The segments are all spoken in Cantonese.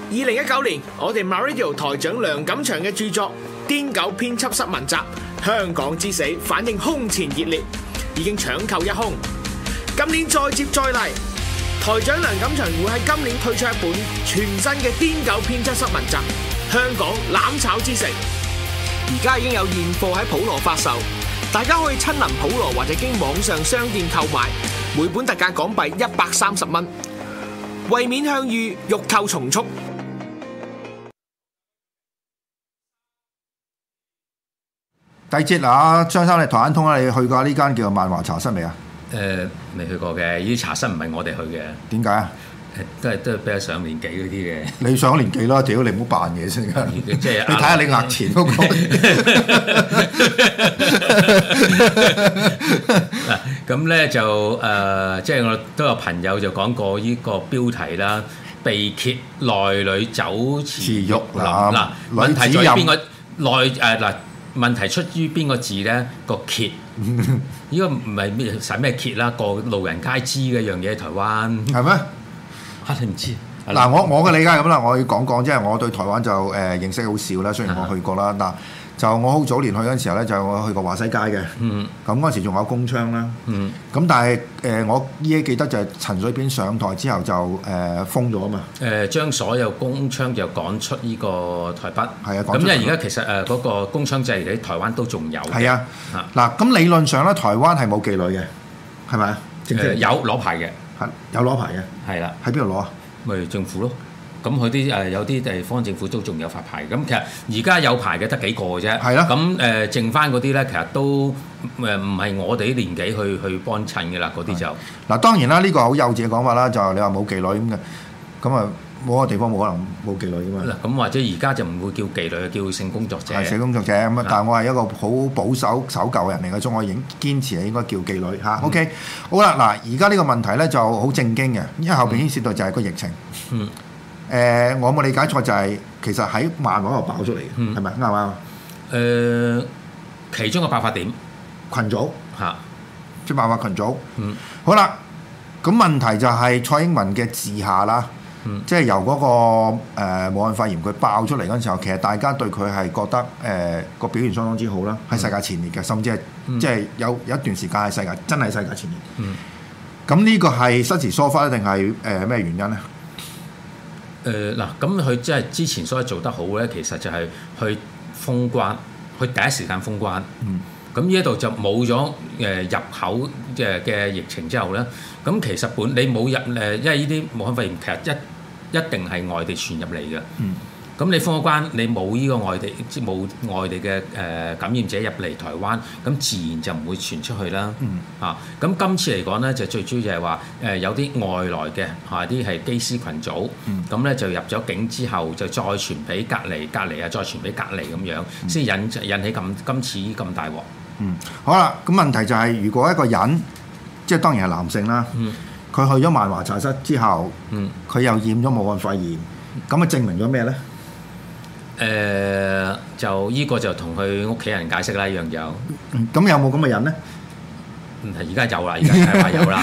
2019年，我哋 MyRadio 台長梁錦祥嘅著作《癲狗編輯室文集：香港之死》反應空前熱烈，已經搶購一空。今年再接再厲，台長梁錦祥會喺今年推出一本全新嘅《癲狗編輯室文集：香港攬炒之城》，而家已經有現貨喺普羅發售，大家可以親臨普羅或者經網上商店購買，每本特價港幣130蚊。為免向隅，欲購從速。 第二節嗱，張生你台灣通啦，你去過呢間叫做萬華茶室未啊？ 未去過嘅，呢啲茶室唔係我哋去嘅。 點解啊？ 都係比較上年紀嗰啲嘅。 你上咗年紀啦，屌你唔好扮嘢先。 即係你睇下你額錢嗰個。 嗱，咁咧就即係我都有朋友就講過呢個標題啦，被揭內裏酒池玉林。嗱，問題在於邊個內嗱？問題出於邊個字咧？個揭，呢個唔係咩使咩揭啦？個路人皆知嘅一樣嘢，台灣係咩？ 嚇你唔知？ 嗱，我嘅理解係咁啦，我要講，即係我對台灣就認識好少啦。雖然我去過啦，嗱就我好早年去嗰陣時候咧，就我去過華西街嘅。咁嗰陣時仲有公槍啦。咁但係我依家記得就係陳水扁上台之後就封咗啊嘛。 將所有公槍就趕出呢個台北。係啊，咁因為而家其實嗰個公槍制喺台灣都仲有。係啊。 嗱，咁理論上咧，台灣係冇妓女嘅，係咪啊？ 有攞牌嘅。 有攞牌嘅。係啦。喺邊度攞啊？咪政府咯。咁佢啲有啲地方政府都仲有發牌，咁其實而家有牌嘅得幾個嘅啫。係咯。咁剩翻嗰啲咧，其實都唔係我哋啲年紀去幫襯嘅啦，嗰啲就嗱當然啦，呢個好幼稚嘅講法啦，就係你話冇妓女咁嘅，咁啊冇個地方冇可能冇妓女噶嘛。 咁或者而家就唔會叫妓女，叫性工作者。 係性工作者咁啊，但係我係一個好保守守舊嘅人嚟嘅，所以我應堅持係應該叫妓女嚇。OK， 好啦，嗱而家呢個問題咧就好正經嘅，因為後邊牽涉到就係個疫情。我冇理解錯就係其實喺萬華度爆出嚟嘅，係咪啱唔啱？ 其中個爆發點群組嚇， 即係萬華群組。好啦，咁問題就係蔡英文嘅治下啦，即係由嗰個武漢肺炎佢爆出嚟嗰陣時候，其實大家對佢係覺得個表現相當之好啦，喺世界前列嘅，甚至係即係有一段時間係真係世界前列。咁呢個係失時疏忽定係咩原因咧？ 嗱，咁佢即係之前所以做得好咧，其實就係去封關，去第一時間封關。咁呢一度就冇咗入口嘅疫情之後咧，咁其實你冇入因為呢啲武漢肺炎其實一定係外地傳入嚟嘅。咁你封咗關，你冇呢個冇外地嘅感染者入嚟台灣，咁自然就唔會傳出去啦。咁今次嚟講咧，就最主要就係話有啲外來嘅啲係機師群組，咁咧就入咗境之後，就再傳俾隔離啊，再傳俾隔離咁樣，先引起今次咁大鑊。 好啦，咁問題就係如果一個人，即係當然係男性啦，佢去咗萬華茶室之後，佢又染咗武漢肺炎，咁啊證明咗咩咧？ 就依個就同佢屋企人解釋啦，一樣有。 咁有冇咁嘅人咧？ 而家有啦，而家係話有啦。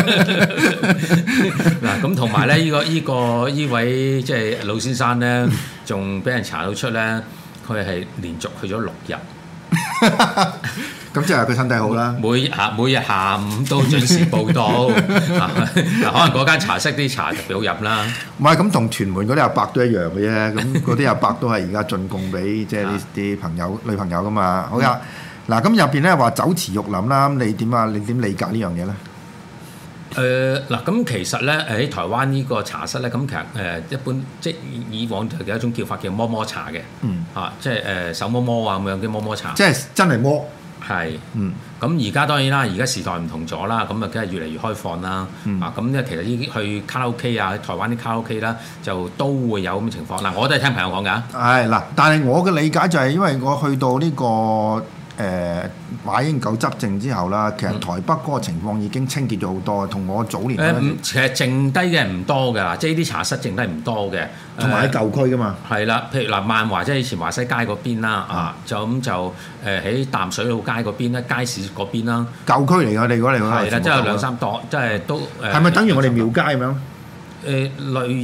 嗱，咁同埋咧，依位即係老先生咧，仲俾人查到出咧，佢係連續去咗6日。 咁即係佢身體好啦。 每日下午都準時報到。嗱，可能嗰間茶室啲茶特別好飲啦。 唔係咁，同屯門嗰啲阿伯都一樣嘅啫。咁嗰啲阿伯都係而家進貢俾即係啲朋友女朋友噶嘛。好呀，嗱咁入邊咧話酒池肉林啦，咁你點啊？你點理解呢樣嘢咧？ 嗱，咁其實咧喺台灣呢個茶室咧，咁其實一般即係以往就有一種叫法叫摸摸茶嘅。即係手摸摸啊咁樣嘅摸摸茶。即係真係摸。 係，咁而家當然啦，而家時代唔同咗啦，咁啊梗係越嚟越開放啦。咁咧其實呢啲去卡拉 OK 啊，台灣啲卡拉 OK 啦，就都會有咁嘅情況。嗱，我都係聽朋友講㗎。 係嗱，但係我嘅理解就係因為我去到呢個馬英九執政之後啦，其實台北嗰個情況已經清潔咗好多，同我早年其實剩低嘅唔多㗎，即係呢啲茶室剩低唔多嘅， 同埋喺舊區㗎嘛。係啦，譬如嗱萬華即係以前華西街嗰邊啦，就咁就喺淡水路街嗰邊啦，街市嗰邊啦。 舊區嚟㗎，你講嚟講係啦，即係2-3檔，即係都係咪等於我哋廟街咁樣？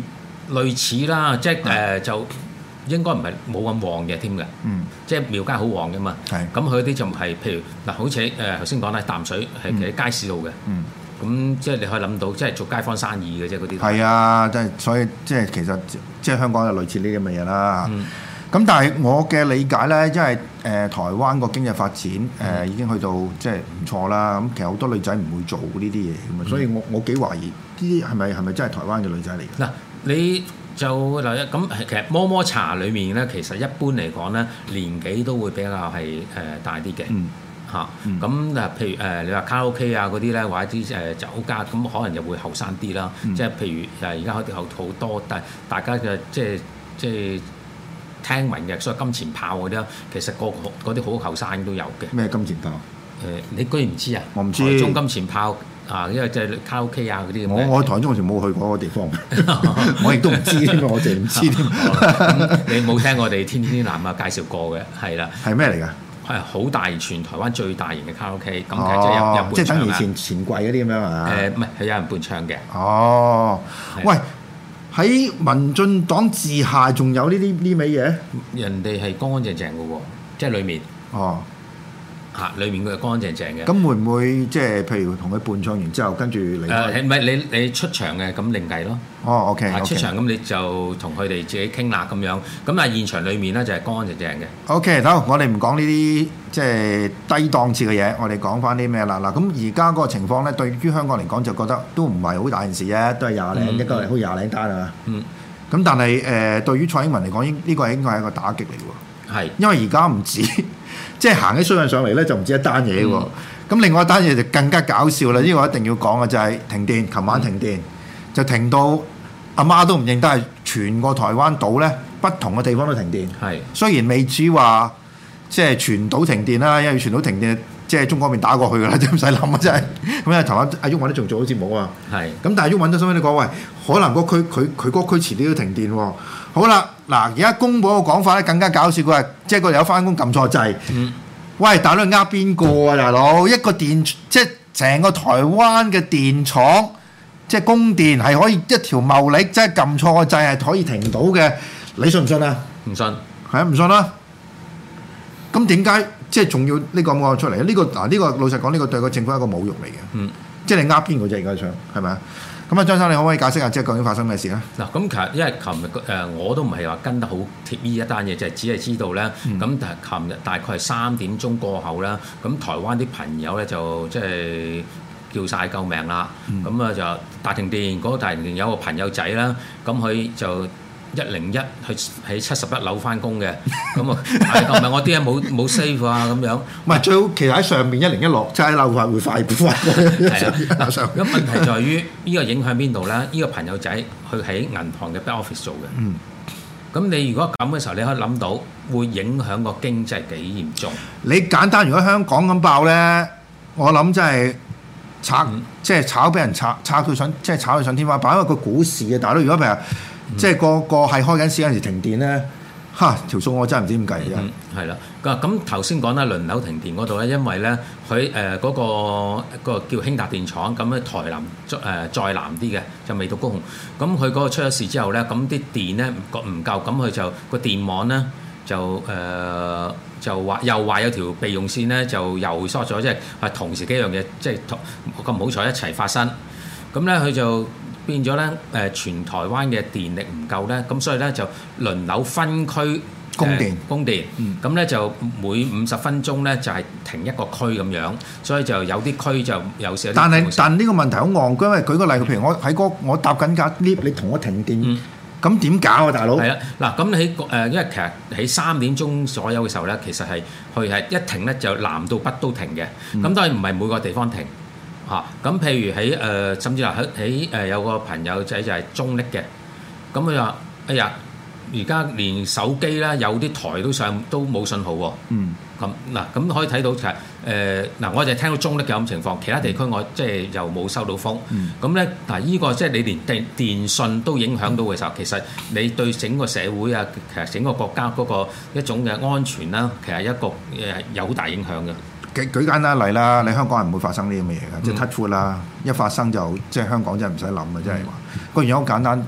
類似啦，即係就應該唔係冇咁旺嘅添嘅，即係廟街好旺嘅嘛。咁佢啲就係譬如嗱，好似頭先講啦，淡水係其實街市路嘅。咁即係你可以諗到，即係做街坊生意嘅啫嗰啲。係啊，即係所以即係其實即係香港有類似呢啲咁嘅嘢啦。咁但係我嘅理解咧，因為台灣個經濟發展已經去到即係唔錯啦。咁其實好多女仔唔會做呢啲嘢咁啊，所以我幾懷疑呢啲係咪真係台灣嘅女仔嚟嘅？ 嗱，你就嗱咁其實摩摩茶裡面咧，其實一般嚟講咧，年紀都會比較係大啲嘅。咁譬如你話卡拉 OK 啊嗰啲咧，或者啲酒家咁，可能就會後生啲啦。即係譬如而家好多，但係大家嘅即係聽聞嘅，所謂金錢豹嗰啲啦，其實嗰啲好後生都有嘅。 咩金錢豹？ 你居然唔知啊？ 我唔知。 台中金錢豹啊，因為即係卡拉 OK 啊嗰啲咁。 我台中嗰時冇去過嗰個地方，我亦都唔知添，我淨係唔知添。 你冇聽我哋天天南啊介紹過嘅，係啦。 係咩嚟㗎？ 係好大，全台灣最大型嘅卡拉 OK，咁其實即係有伴唱即係等於錢櫃嗰啲咁樣啊？ 唔係，係有人伴唱嘅。 哦，喂，喺民進黨治下仲有呢味嘢？ 人哋係乾乾淨淨嘅喎，即係裡面。哦。裡面佢係乾乾淨淨嘅。 咁會唔會即係譬如同佢伴唱完之後，跟住離開？ 唔係你出場嘅，咁另計咯。 哦，OK。 出場咁你就同佢哋自己傾啦咁樣。咁但係現場裡面咧就係乾乾淨淨嘅。 OK，好，我哋唔講呢啲即係低檔次嘅嘢，我哋講翻啲咩啦？嗱，咁而家嗰個情況咧，對於香港嚟講就覺得都唔係好大件事啫，都係一個好廿零單啊。咁但係對於蔡英文嚟講，呢個應該係一個打擊嚟喎。係。因為而家唔止。即係行起衰運上嚟咧，就唔止一單嘢喎。咁另外一單嘢就更加搞笑啦！呢個一定要講嘅就係停電。琴晚停電就停到阿媽都唔認得，係全個台灣島咧不同嘅地方都停電。係雖然未至於話即係全島停電啦，因為全島停電即係中國嗰邊打過去㗎啦，真係唔使諗啊！真係咁因為台灣阿鬱允都仲做咗節目啊。係咁，但係鬱允都收尾你講喂，可能嗰區佢嗰區遲啲都停電喎。好啦，嗱而家公佈個講法咧更加搞笑，佢話即係個有翻工撳錯掣。喂，大佬呃邊個啊？大佬一個電即係成個台灣嘅電廠，即係供電係可以一條茂力，即係撳錯個掣係可以停到嘅，你信唔信啊？唔信，係啊，唔信啦。咁點解即係仲要呢個講出嚟？呢個老實講，呢個對個政府係一個侮辱嚟嘅。即係你呃邊個啫？而家想係咪啊？咁啊，張生你可唔可以解釋下即係究竟發生咩事咧？嗱，咁其實因為琴日我都唔係話跟得好貼呢一單嘢，就係只係知道咧。咁但係琴日大概係3點鐘過後啦，咁台灣啲朋友咧就即係叫晒救命啦。咁啊就大停電，嗰個大停電有個朋友仔啦，咁佢就101去喺71樓翻工嘅，咁啊救命！我啲嘢冇 save 啊咁樣。唔係最好，其實喺上邊101落，即係喺樓下會快啲。係啊，咁問題在於呢個影響邊度咧？呢個朋友仔佢喺銀行嘅 back office 做嘅。咁你如果咁嘅時候，你可以諗到會影響個經濟幾嚴重。你簡單，如果香港咁爆咧，我諗真係即係炒俾人炒到上，即係炒到上天花板。因為個股市嘅大佬，如果譬如即係個係開緊市嗰陣時停電咧，條數我真係唔知點計嘅。係啦，咁頭先講啦，輪流停電嗰度咧，因為咧佢嗰個叫興達電廠，咁咧台南再南啲嘅就未到高雄，咁佢嗰個出咗事之後咧，咁啲電咧唔夠，咁佢就個電網咧就話又話有條備用線咧就又疏咗，即係同時幾樣嘢即係咁唔好彩一齊發生，咁咧佢就變咗咧全台灣嘅電力唔夠咧，咁所以咧就輪流分區供電，咁咧就每50分鐘咧就係停一個區咁樣，所以就有啲區就有時。但呢個問題好戇居，因為舉個例，譬如我搭緊架 lift，你同我停電，咁點搞啊，大佬？係啊，嗱咁喺因為其實喺3點鐘左右嘅時候咧，其實係佢係一停咧就南到北都停嘅，咁當然唔係每個地方停。咁譬如喺甚至話喺有個朋友仔就係中壢嘅，咁佢話：哎呀，而家連手機啦，有啲台都冇信號喎。咁可以睇到其實我就聽到中壢嘅咁情況，其他地區我即係又冇收到風。咁咧呢個即係你連電信都影響到嘅時候，其實你對整個社會啊，其實整個國家嗰個一種嘅安全啦，其實一個有好大影響嘅。舉簡單例啦，你香港人唔會發生呢啲咁嘅嘢嘅，即係 touch wood 啦，一發生就即係香港真係唔使諗嘅，即係話個原因好簡單，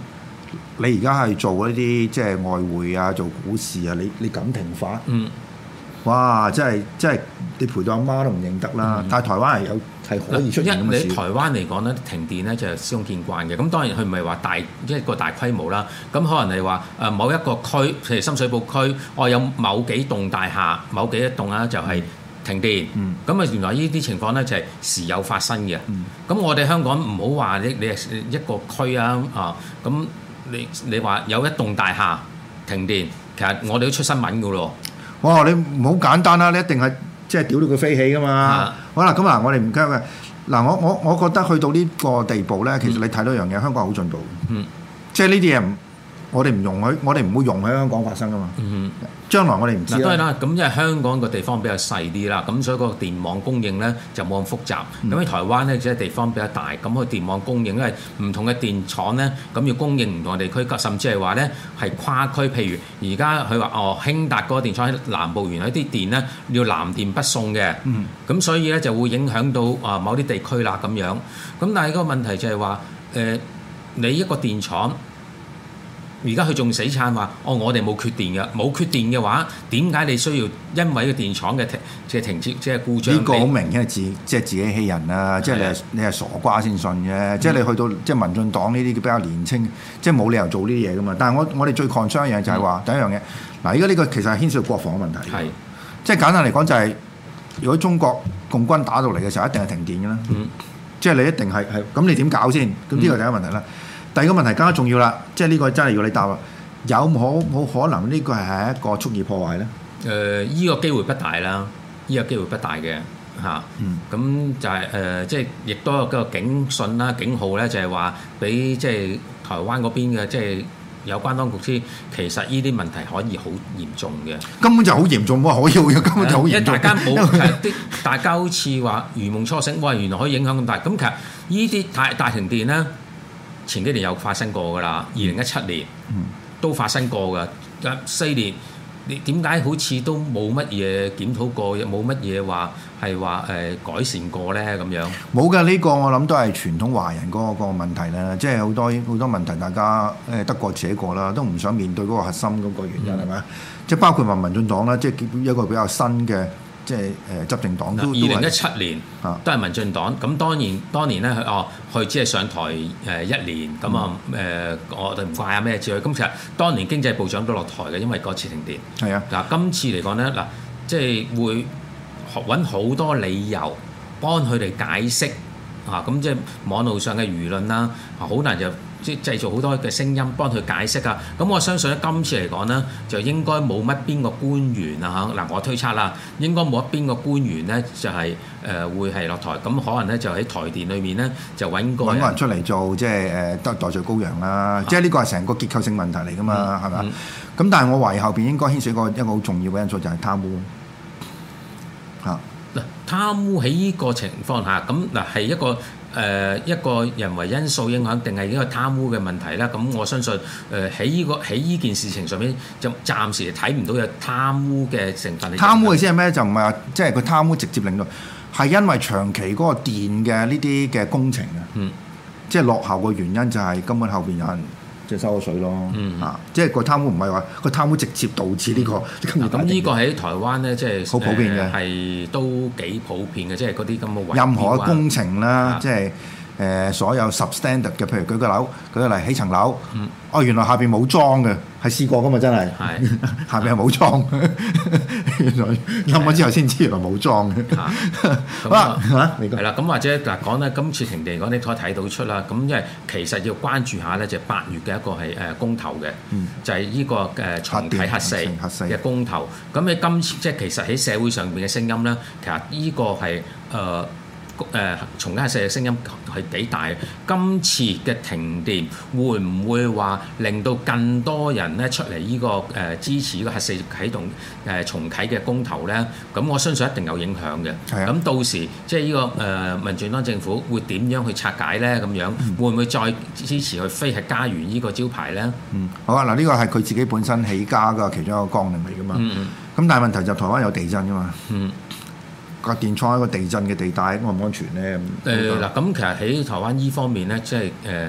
你而家係做一啲即係外匯啊，做股市啊，你咁停法，哇！真係你賠到阿媽都唔認得啦。但係台灣係可以出現咁嘅事。 你台灣嚟講咧，停電咧就司空見慣嘅。咁當然佢唔係話一個大規模啦。咁可能係話某一個區，譬如深水埗區，有某幾棟大廈、某幾一棟啦，就係停電。咁原來呢啲情況咧就係時有發生嘅。咁我哋香港唔好話你係一個區啊咁你話有一棟大廈停電，其實我哋都出新聞噶咯。 哇！你唔好簡單啦，你一定係即係屌到佢飛起噶嘛。好啦，咁嗱，我哋唔驚嘅。嗱，我覺得去到呢個地步咧，其實你睇到一樣嘢，香港好進步。即係呢啲嘢我哋唔容許，我哋唔會容許喺香港發生噶嘛。將來我哋唔知啦。 當然啦，咁因為香港個地方比較細啲啦，咁所以個電網供應咧就冇咁複雜。咁喺台灣咧，即係地方比較大，咁個電網供應因為唔同嘅電廠咧，咁要供應唔同嘅地區，甚至係話咧係跨區。譬如而家佢話興達嗰個電廠喺南部，原來啲電咧要南電北送嘅，咁所以咧就會影響到某啲地區啦咁樣。咁但係個問題就係話你一個電廠。而家佢仲死撐話，我哋冇缺電嘅，冇缺電嘅話，點解你需要因為個電廠嘅停止即係故障？呢個好明顯係自己欺人啦！即係你係傻瓜先信嘅，即係你去到即係民進黨呢啲比較年青，即係冇理由做呢啲嘢噶嘛。但係我哋最 concern 一樣就係話第一樣嘢，嗱，而家呢個其實係牽涉到國防嘅問題。係，即係簡單嚟講就係，如果中國共軍打到嚟嘅時候，一定係停電嘅啦。即係你一定係咁，你點搞先？咁呢個第一個問題啦。第二個問題更加重要啦，即係呢個真係要你答啦。有冇可能呢個係一個蓄意破壞咧？ 依個機會不大啦，依個機會不大嘅嚇。咁就係即係亦都有個警訊啦、警號咧，就係話俾即係台灣嗰邊嘅即係有關當局知，其實呢啲問題可以好嚴重嘅。 根本就好嚴重喎，可以根本就好嚴重。因為大家大家好似話如夢初醒，哇！原來可以影響咁大。咁其實呢啲大停電咧。前幾年有發生過㗎啦，2017年都發生過㗎，4年你點解好似都冇乜嘢檢討過，冇乜嘢話係話改善過咧咁樣？ 冇㗎，呢個我諗都係傳統華人嗰個問題啦，即係好多問題大家得過且過啦，都唔想面對嗰個核心嗰個原因係咪？即係包括話民進黨啦，即係一個比較新嘅。即係執政黨都 2017年都係民進黨，咁當年咧佢只係上台1年，咁我哋唔怪下咩之類。咁其實當年經濟部長都落台嘅，因為嗰次停電。係啊，嗱今次嚟講咧，嗱即係會揾好多理由幫佢哋解釋咁即係網絡上嘅輿論啦，好難就。即係製造好多嘅聲音幫佢解釋啊！咁我相信咧，今次嚟講咧，就應該冇乜邊個官員啊嗱，我推測啦，應該冇一邊個官員咧就係會係落台，咁可能咧就喺台電裏面咧就揾個人出嚟做即係得代罪羔羊啦，即係呢個係成個結構性問題嚟㗎嘛，係咪？咁但係我懷疑後邊應該牽涉一個好重要嘅因素就係貪污嚇。 嗱，貪污喺呢個情況下，咁嗱係一個人為因素影響，定係一個貪污嘅問題啦。咁我相信喺呢件事情上面，就暫時睇唔到有貪污嘅成分。 貪污嘅先係咩？就唔係話即係佢貪污直接令到，係因為長期嗰個電嘅呢啲嘅工程啊，即係落後嘅原因就係根本後邊有人即係收咗水咯。即係個貪污唔係話個貪污直接導致呢個。 咁呢個喺台灣咧，即係好普遍嘅， 係都幾普遍嘅，即係嗰啲咁嘅任何嘅工程啦，即係所有 substandard 嘅，譬如舉個例起層樓，原來下邊冇裝嘅，係試過噶嘛，真係下邊係冇裝，原來冧咗之後先知原來冇裝嘅。 好啦，係啦，咁或者嗱講咧，今次停電嚟講，你可以睇到出啦。咁因為其實要關注下咧，就8月嘅一個係公投嘅，就係呢個重啟核四嘅公投。咁喺今次即係其實喺社會上邊嘅聲音咧，其實呢個係重啟核四嘅聲音係幾大？今次嘅停電會唔會話令到更多人咧出嚟呢個支持呢個核四啟動重啟嘅公投咧？咁我相信一定有影響嘅。咁到時即係呢個民進黨政府會點樣去拆解咧？咁樣會唔會再支持佢非核家園呢個招牌咧？ 好啊！嗱，呢個係佢自己本身起家嘅其中一個綱領嚟噶嘛。咁但係問題就台灣有地震噶嘛。個電廠喺個地震嘅地帶，安唔安全咧？ 嗱，咁其實喺台灣依方面咧，即係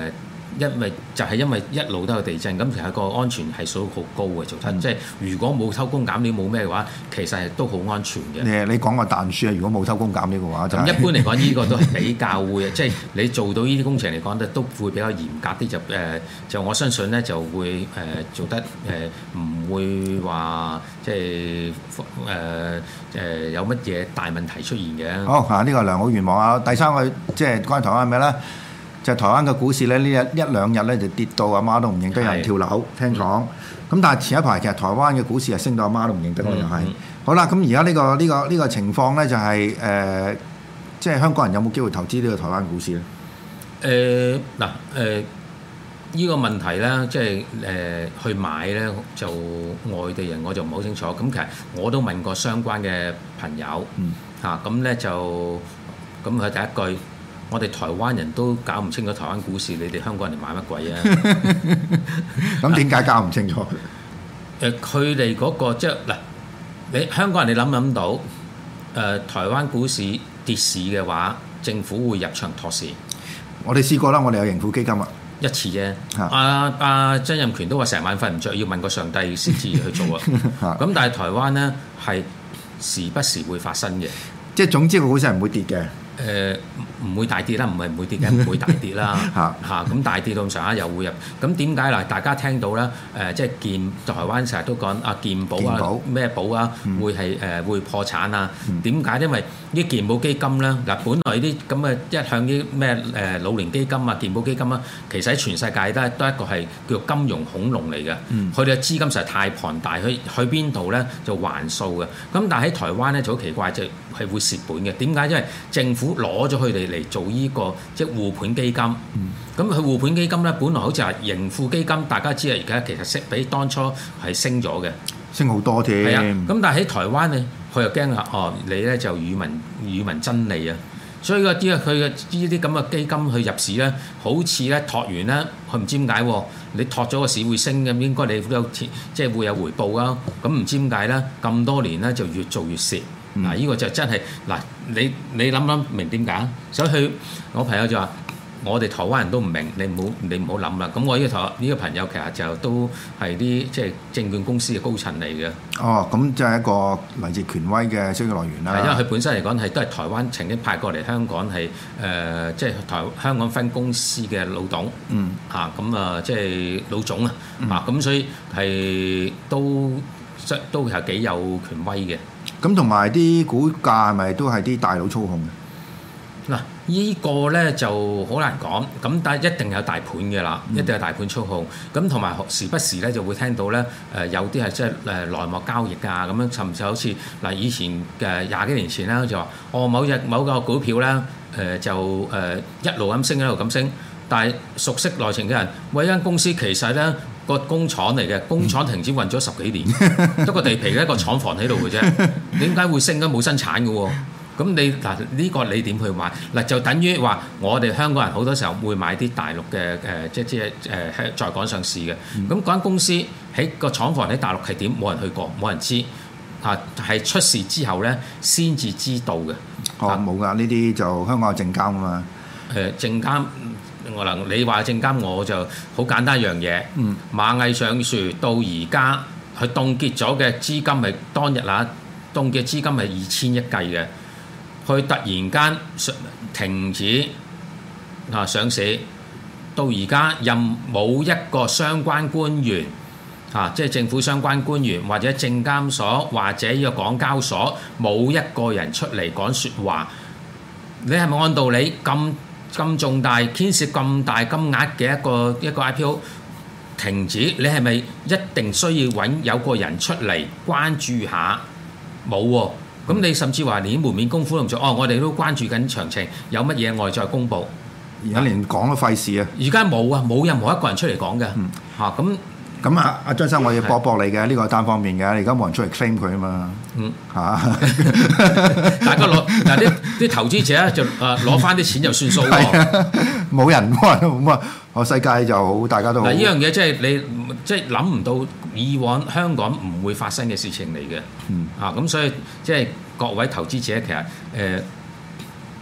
因為一路都有地震，咁其實個安全係數好高嘅做親，即係如果冇偷工減料冇咩嘅話，其實係都好安全嘅。 你講個彈書啊，如果冇偷工減料嘅話， 咁一般嚟講，呢個都係比較會，即係你做到呢啲工程嚟講咧，都會比較嚴格啲，就我相信咧就會做得唔會話即係有乜嘢大問題出現嘅。 好啊，呢個良好願望啊！第三個即係關於台灣係咩咧？就台灣嘅股市咧，呢一兩日咧就跌到阿媽都唔認得，有人跳樓聽講。咁但係前一排其實台灣嘅股市係升到阿媽都唔認得咯，又係。好啦，咁而家呢個情況咧就係即係香港人有冇機會投資呢個台灣股市咧？ 呢個問題咧，即係去買咧，就外地人我就唔好清楚。咁其實我都問過相關嘅朋友，咁咧就咁佢第一句。我哋台灣人都搞唔清楚台灣股市，你哋香港人買乜鬼啊？ 咁點解搞唔清楚？ 佢哋嗰個即係嗱，你香港人你諗到台灣股市跌市嘅話，政府會入場托市。我哋試過啦，我哋有盈富基金啊， 一次啫。阿曾蔭權都話成晚瞓唔着，要問個上帝先至去做啊。咁但係台灣咧係時不時會發生嘅， 即係總之個股市係唔會跌嘅。 唔會大跌啦，唔係唔會跌嘅，唔會大跌啦咁大跌到咁上下又會入。咁點解嗱？大家聽到啦即係台灣成日都講健保啊咩保啊，會係會破產啊？點解？因為啲健保基金咧嗱，本來啲咁嘅一向啲咩老年基金啊、健保基金啊，其實喺全世界都一個係叫做金融恐龍嚟嘅。佢哋嘅資金實在太龐大，去邊度咧就還數嘅。咁但係喺台灣咧就好奇怪，就係會蝕本嘅。點解？因為政府攞咗佢哋嚟做呢個即係護盤基金，咁佢護盤基金咧，本來好似係盈富基金，大家知啊，而家其實升比當初係升咗嘅， 升好多添。 係啊，咁但係喺台灣咧，佢又驚啊，你咧就與民爭利啊，所以佢嘅呢啲咁嘅基金去入市咧，好似咧托完咧，佢唔知點解喎，你托咗個市會升咁，應該你都有即係會有回報啊，咁唔知點解咧，咁多年咧就越做越蝕。嗱，呢個就真係嗱，你諗明點解？所以我朋友就話：我哋台灣人都唔明，你唔好諗啦。咁我呢個朋友其實就都係啲即係證券公司嘅高層嚟嘅。 哦，咁即係一個嚟自權威嘅消息來源啦。 係因為佢本身嚟講係都係台灣曾經派過嚟香港係即係香港分公司嘅老董。即係老總啊。咁所以係都係幾有權威嘅。 咁同埋啲股價係咪都係啲大佬操控嘅？ 嗱，依個咧就好難講，咁但係一定有大盤嘅啦，一定有大盤操控。咁同埋時不時咧就會聽到咧有啲係即係內幕交易啊咁樣，甚至好似嗱以前嘅20幾年前啦，就話某個股票咧就一路咁升一路咁升，但係熟悉內情嘅人，喂，間公司其實咧個工廠嚟嘅，工廠停止運咗10幾年，得個地皮一個廠房喺度嘅啫，點解會升？都冇生產嘅喎。咁你嗱呢個你點去買？嗱就等於話我哋香港人好多時候會買啲大陸嘅即係在港上市嘅。咁嗰間公司喺個廠房喺大陸係點？冇人去過，冇人知係出事之後咧先至知道嘅。 冇㗎，呢啲就香港有證監啊嘛。 證監你話證監我就好簡單一樣嘢。螞蟻上樹到而家佢凍結咗嘅資金係當日凍結資金係2000億計嘅。佢突然間停止上市，到而家任冇一個相關官員即係政府相關官員或者證監所或者呢個港交所冇一個人出嚟講説話。你係咪按道理咁重大牽涉咁大金額嘅一個 IPO 停止，你係咪一定需要揾有個人出嚟關注下？冇喎。咁你甚至話連門面功夫都唔做，我哋都關注緊詳情，有乜嘢我哋再公佈。 而家連講都費事啊！ 而家冇啊，冇任何一個人出嚟講嘅。 咁阿張生，我要駁你嘅，呢個係單方面嘅，你而家冇人出嚟 claim 佢啊嘛。 大家攞嗱啲投資者就攞翻啲錢就算數喎。 冇人咁啊！我世界就好，大家都好。 嗱，呢樣嘢即係你即係諗唔到，以往香港唔會發生嘅事情嚟嘅。咁所以即係各位投資者其實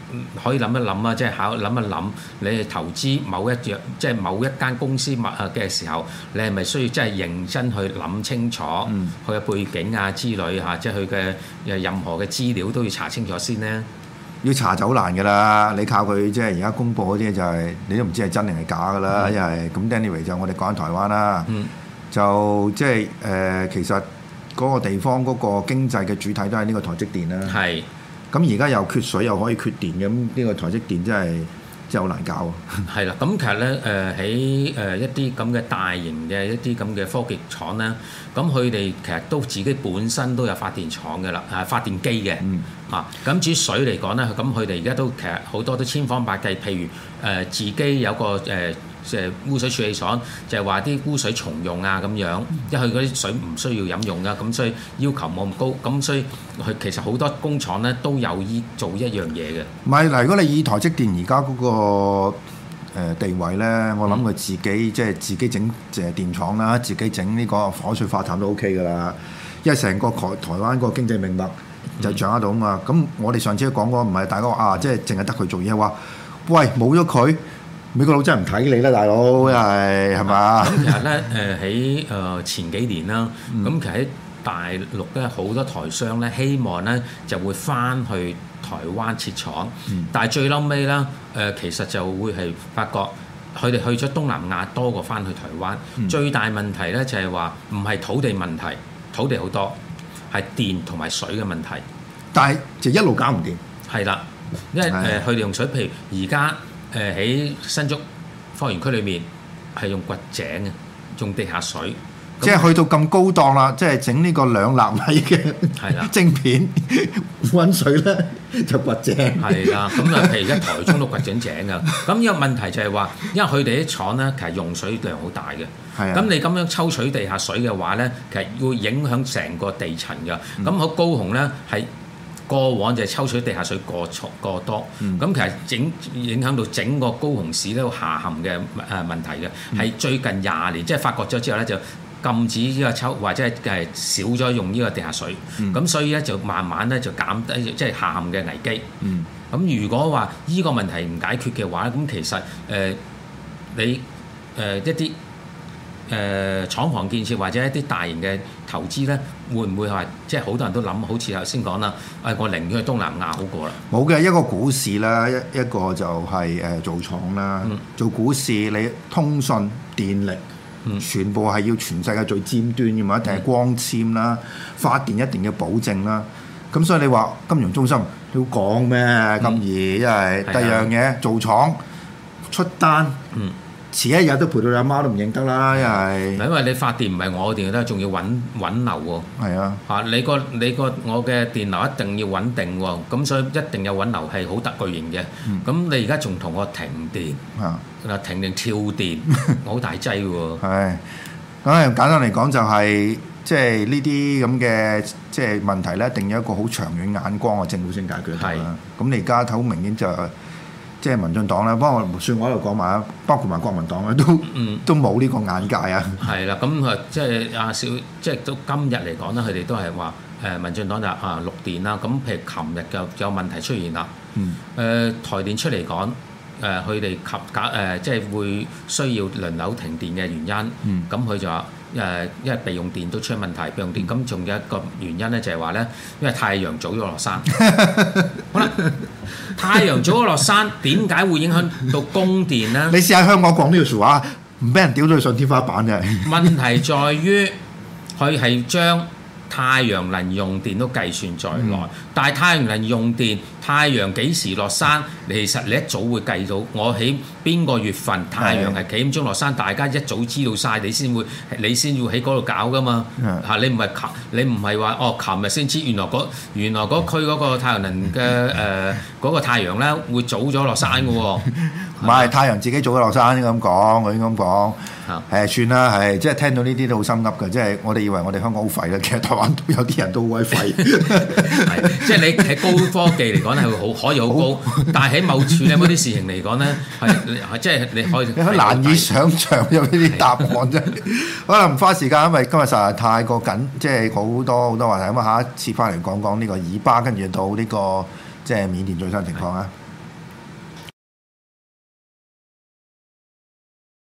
可以諗一諗啊，即係諗一諗，你係投資某一樣，即係某一間公司嘅時候，你係咪需要真係認真去諗清楚佢嘅背景啊之類嚇，即係佢嘅任何嘅資料都要查清楚先呢？ 要查就好難㗎啦，你靠佢即係而家公佈嗰啲就係、你都唔知係真定係假㗎啦，因為咁 anyway 就我哋講緊台灣啦，就即係其實嗰個地方嗰個經濟嘅主體都係呢個台積電啦。係。咁而家又缺水又可以缺電嘅，咁呢個台積電真係好難搞啊！ 係啦，咁其實咧喺一啲咁嘅大型嘅一啲咁嘅科技廠咧，咁佢哋其實都自己本身都有發電廠嘅啦，發電機嘅。咁至於水嚟講咧，咁佢哋而家都其實好多都千方百計，譬如自己有個污水處理廠，就係話啲污水重用啊咁樣，因為佢嗰啲水唔需要飲用噶，咁所以要求冇咁高，咁所以佢其實好多工廠咧都有做一樣嘢嘅。 唔係嗱，如果你以台積電而家嗰個地位咧，我諗佢自己即係自己整電廠啦，自己整呢個海水化淡都 OK 噶啦，因為成個台灣個經濟命脈就掌握到啊嘛。咁我哋上次講過唔係大家話即係淨係得佢做嘢，話喂冇咗佢。美國佬真係唔睇你啦，大佬，係嘛？ 咁其實咧，喺前幾年啦，咁其實喺大陸咧好多台商咧，希望咧就會翻去台灣設廠，但係最嬲尾啦，其實就會係發覺佢哋去咗東南亞多過翻去台灣。最大問題咧就係話唔係土地問題，土地好多，係電同埋水嘅問題。 但係就一路搞唔掂。 係啦，因為佢哋用水，譬如而家。喺新竹科園區裏面係用掘井嘅，用地下水， 即係去到咁高檔啦，即係整呢個2納米嘅晶片，揾水咧就掘井。 係啦，咁啊，譬如而家台中都掘緊井㗎。咁呢個問題就係話，因為佢哋啲廠咧其實用水量好大嘅。係啊。咁你咁樣抽取地下水嘅話咧，其實會影響成個地層㗎。咁喺高雄咧係。過往就係抽取地下水過多，咁其實影響到整個高雄市都下陷嘅問題嘅，係最近20年即係發覺咗之後咧就禁止呢個抽或者係少咗用呢個地下水，咁所以咧就慢慢咧就減低即係下陷嘅危機。咁如果話呢個問題唔解決嘅話咧，咁其實你一啲廠房建設或者一啲大型嘅投資咧，會唔會係即係好多人都諗，好似頭先講啦，我寧願去東南亞好過啦。 冇嘅，一個股市啦，一個就係做廠啦。做股市你通訊電力，全部係要全世界最尖端嘅嘛，一定係光纖啦，發電一定要保證啦。咁所以你話金融中心要講咩咁易？因為第二樣嘢做廠出單。遲一日都賠到你阿媽都唔認得啦， 因為你發電唔係我嘅電都仲要穩流喎。係啊，我嘅電流一定要穩定喎，咁所以一定有穩流係好特巨型嘅。咁你而家仲同我停電，停電跳電，好大劑喎。係， 咁簡單嚟講就係即係呢啲咁嘅即係問題咧，一定要一個好長遠眼光嘅政府先解決到啦。咁你而家睇好明顯就即係民進黨咧，幫我算我喺度講埋啊，包括埋國民黨咧，都冇呢個眼界啊。係啦，咁即係阿少，即係到今日嚟講咧，佢哋都係話民進黨就綠電啦。咁譬如琴日就有問題出現啦。台電出嚟講，佢哋即係會需要輪流停電嘅原因。咁佢就話因為備用電都出問題，備用電咁仲有一個原因咧，就係話咧，因為太陽早咗落山。好啦。太陽早咗落山，點解會影響到供電呢？ 你試下香港講呢句説話，唔俾人屌到上天花板嘅。 問題在於佢係將太陽能用電都計算在內，但係太陽能用電，太陽幾時落山，其實你一早會計到。我喺邊個月份太陽係幾點鐘落山，大家一早知道晒，你先會喺嗰度搞噶嘛。你唔係話琴日先知，原來嗰區嗰個太陽能嘅嗰個太陽咧會早咗落山嘅喎。 唔係太陽自己早咗落山咁講，我應該咁講。算啦，即係聽到呢啲都好心噏嘅，即係我哋以為我哋香港好廢啦，其實台灣都有啲人都好鬼廢。 即係你喺高科技嚟講咧係可以好高，但係喺某處咧嗰啲事情嚟講咧係即係你可以難以想像有呢啲答案啫。可能唔花時間，因為今日實在太過緊，即係好多話題。咁下一次翻嚟講講呢個以巴，跟住到呢個即係緬甸最新情況啊。